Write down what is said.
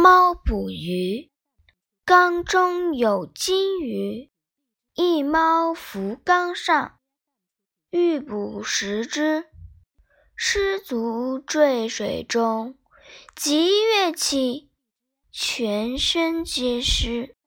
猫捕鱼，缸中有金鱼，一猫浮缸上，欲捕食之。失足坠水中，即跃起，全身皆湿。